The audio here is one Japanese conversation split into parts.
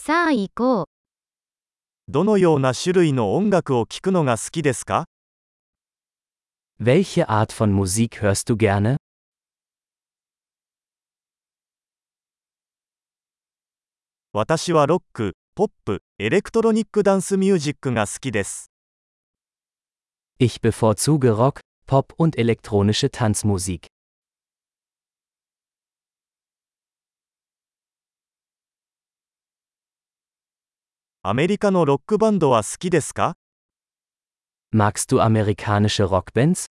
さあ行こう。 どのような種類の音楽を聴くのが好きですか？ Welche Art von Musik hörst du gerne? 私はロック、ポップ、エレクトロニックダンスミュージックが好きです。 Ich bevorzuge Rock, Pop und elektronische Tanzmusik. アメリカのロックバンドは好きですか？ Magst du amerikanische Rockbands?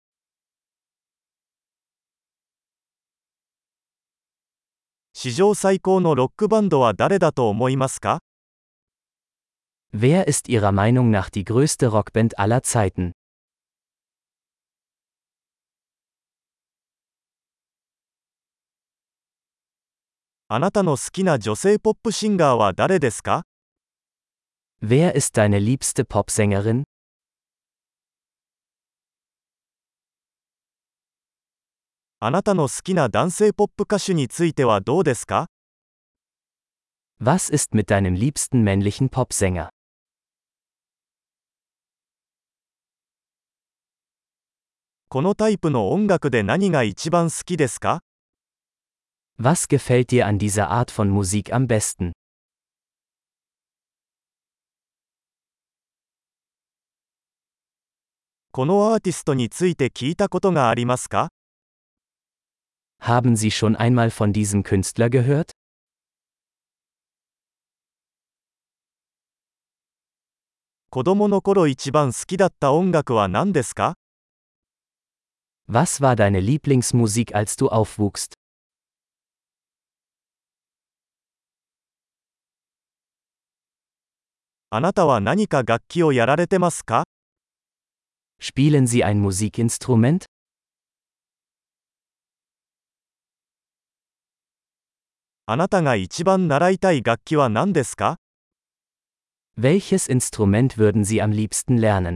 史上最高のロックバンドは誰だと思いますか？ Wer ist Ihrer Meinung nach die größte Rockband aller Zeiten? あなたの好きな女性ポップシンガーは誰ですか？ Wer ist deine liebste Popsängerin? あなたの好きな男性ポップ歌手についてはどうですか？ Was ist mit deinem liebsten männlichen Popsänger? このタイプの音楽で何が一番好きですか？ Was gefällt dir an dieser Art von Musik am besten? このアーティストについて聞いたことがありますか？ Haben Sie schon einmal von diesem Künstler gehört? 子供の頃一番好きだった音楽は何ですか？ Was war deine Lieblingsmusik, als du aufwuchst? あなたは何か楽器をやられてますか？ Spielen Sie ein Musikinstrument? あなたが一番習いたい楽器は何ですか？ Welches Instrument würden Sie am liebsten lernen?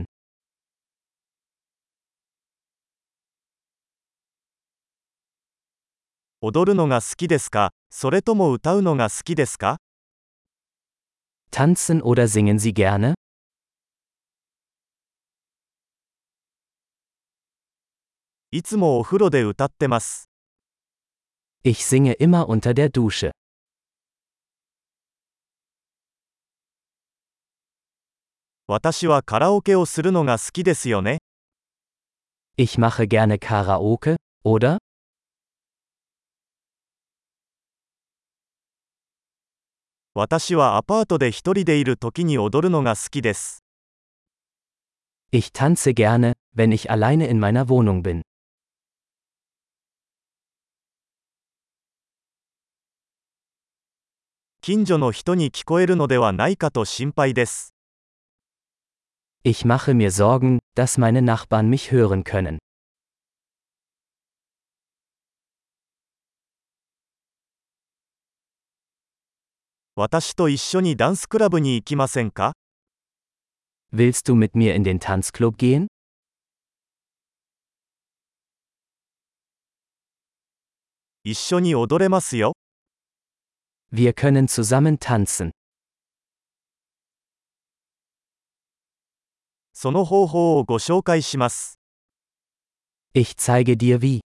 踊るのが好きですか？それとも歌うのが好きですか？ Tanzen oder singen Sie gerne? いつもお風呂で歌ってます。 Ich singe immer unter der Dusche. 私はカラオケをするのが好きですよね。 Ich mache gerne Karaoke, oder? 私はアパートで一人でいる時に踊るのが好きです。 Ich tanze gerne, wenn ich alleine in meiner Wohnung bin. 近所の人に聞こえるのではないかと心配です。 Ich mache mir Sorgen, dass meine Nachbarn mich hören können. 私と一緒にダンスクラブに行きませんか？ Willst du mit mir in den Tanzclub gehen? 一緒に踊れますよ。 Wir können zusammen tanzen. その方法をご紹介します。 Ich zeige dir wie.